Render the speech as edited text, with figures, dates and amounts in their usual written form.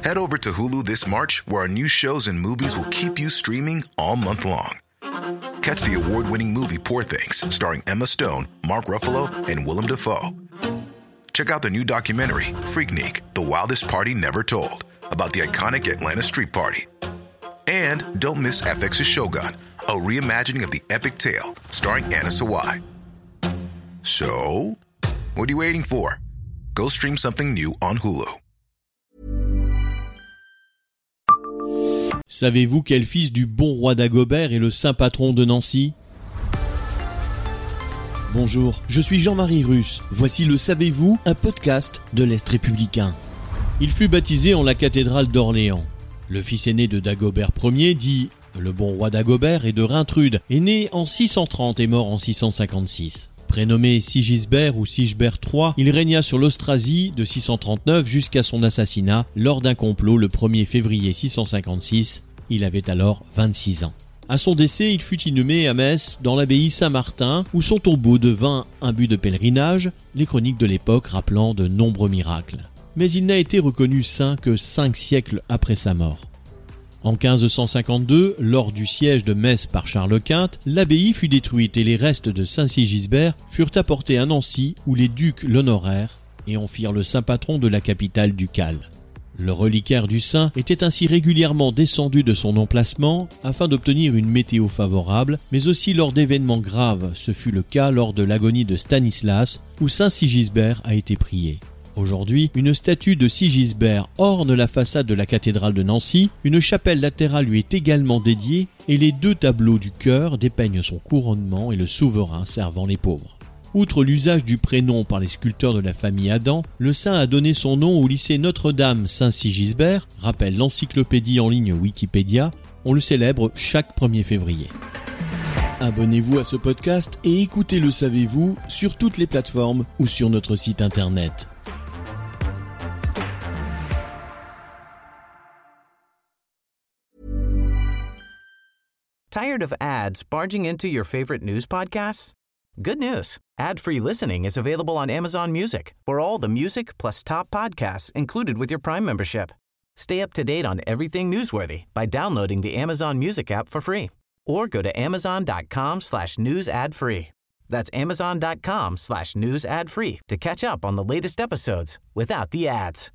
Head over to Hulu this March, where our new shows and movies will keep you streaming all month long. Catch the award-winning movie Poor Things, starring Emma Stone, Mark Ruffalo, and Willem Dafoe. Check out the new documentary, Freaknik, The Wildest Party Never Told, about the iconic Atlanta Street Party. And don't miss FX's Shogun, a reimagining of the epic tale, starring Anna Sawai. So, what are you waiting for? Go stream something new on Hulu. Savez-vous quel fils du bon roi Dagobert est le saint patron de Nancy ? Bonjour, je suis Jean-Marie Russe. Voici le Savez-vous, un podcast de l'Est républicain. Il fut baptisé en la cathédrale d'Orléans. Le fils aîné de Dagobert Ier, dit le bon roi Dagobert, et de Rintrude, est né en 630 et mort en 656. Prénommé Sigisbert ou Sigebert III, il régna sur l'Austrasie de 639 jusqu'à son assassinat lors d'un complot le 1er février 656. Il avait alors 26 ans. À son décès, il fut inhumé à Metz dans l'abbaye Saint-Martin où son tombeau devint un but de pèlerinage, les chroniques de l'époque rappelant de nombreux miracles. Mais il n'a été reconnu saint que 5 siècles après sa mort. En 1552, lors du siège de Metz par Charles Quint, l'abbaye fut détruite et les restes de Saint Sigisbert furent apportés à Nancy où les ducs l'honorèrent et en firent le saint patron de la capitale ducale. Le reliquaire du saint était ainsi régulièrement descendu de son emplacement afin d'obtenir une météo favorable, mais aussi lors d'événements graves. Ce fut le cas lors de l'agonie de Stanislas où Saint Sigisbert a été prié. Aujourd'hui, une statue de Sigisbert orne la façade de la cathédrale de Nancy, une chapelle latérale lui est également dédiée et les 2 tableaux du chœur dépeignent son couronnement et le souverain servant les pauvres. Outre l'usage du prénom par les sculpteurs de la famille Adam, le saint a donné son nom au lycée Notre-Dame Saint-Sigisbert, rappelle l'encyclopédie en ligne Wikipédia. On le célèbre chaque 1er février. Abonnez-vous à ce podcast et écoutez Le Savez-vous sur toutes les plateformes ou sur notre site internet. Tired of ads barging into your favorite news podcasts? Good news. Ad-free listening is available on Amazon Music for all the music plus top podcasts included with your Prime membership. Stay up to date on everything newsworthy by downloading the Amazon Music app for free or go to amazon.com/news ad free. That's amazon.com/news ad free to catch up on the latest episodes without the ads.